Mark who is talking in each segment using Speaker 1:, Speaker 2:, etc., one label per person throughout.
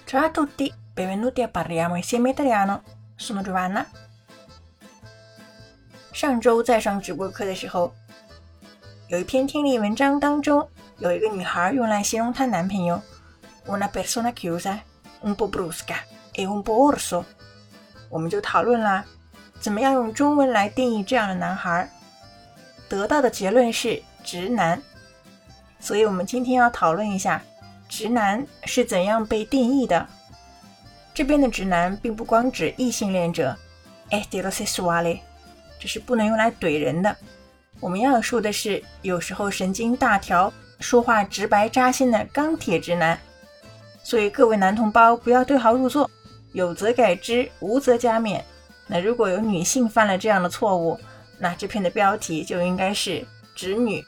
Speaker 1: Ciao a tutti, benvenuti a Parliamo insieme italiano. Sono Giovanna. 上周在上直播课的时候，有一篇听力文章当中，有一个女孩用来形容她男朋友 una persona chiusa, un po' brusca e un po' orso。 我们就讨论啦，怎么样用中文来定义这样的男孩，得到的结论是直男。所以我们今天要讨论一下直男是怎样被定义的。这边的直男并不光指异性恋者 heterosessuale， 这是不能用来怼人的。我们要说的是有时候神经大条，说话直白扎心的钢铁直男。所以各位男同胞不要对号入座，有则改之，无则加勉。那如果有女性犯了这样的错误，那这篇的标题就应该是直女。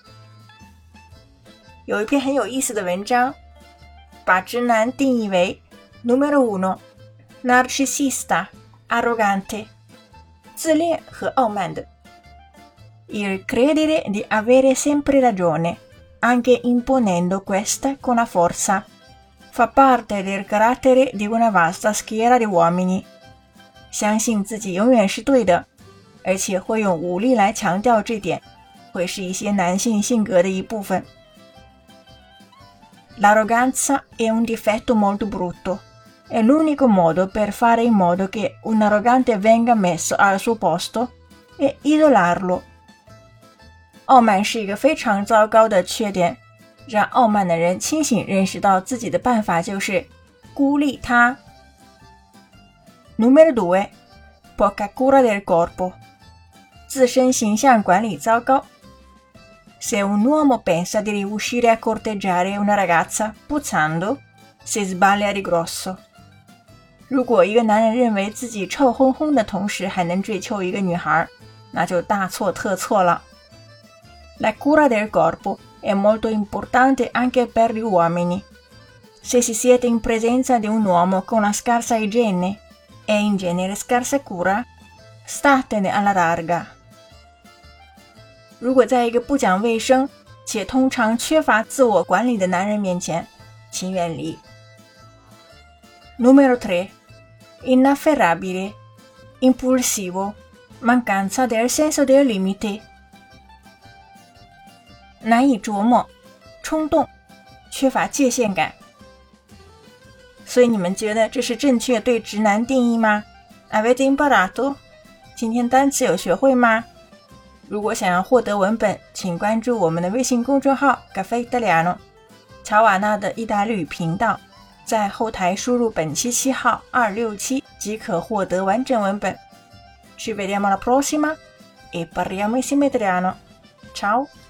Speaker 1: 有一篇很有意思的文章，把直男定义为 Numero 1 narcisista arrogante， 自恋和傲慢的。Il credere di avere sempre ragione, anche imponendo questa con la forza, fa parte del carattere di una vasta schiera di uomini。 相信自己永远是对的，而且会用武力来强调这点，会是一些男性性格的一部分。L'arroganza è un difetto molto brutto. È l'unico modo per fare in modo che un arrogante venga messo al suo posto e isolarlo。 傲慢是一个非常糟糕的缺点，让傲慢的人清醒认识到自己的办法就是孤立他。Numero 2 poca cura del corpo， 自身形象管理糟糕。Se un uomo pensa di riuscire a corteggiare una ragazza puzzando, si sbaglia di grosso。 如果一个男人认为自己臭烘烘的同时还能追求一个女孩，那就大错特错了。La cura del corpo è molto importante anche per gli uomini. Se si siete in presenza di un uomo con una scarsa igiene e in genere scarsa cura, statene alla larga。如果在一个不讲卫生且通常缺乏自我管理的男人面前，请远离。Numero 3 inafferrabile, impulsivo, mancanza del senso del limite。 难以琢磨，冲动，缺乏界限感。所以你们觉得这是正确对直男定义吗？ Avete imparato？ 今天单词有学会吗？如果想要获得文本，请关注我们的微信公众号 Caffè Italiano 乔瓦纳的意大利语频道，在后台输入本期7号267即可获得完整文本。Ci vediamo alla prossima e parliamo insieme italiano. Ciao!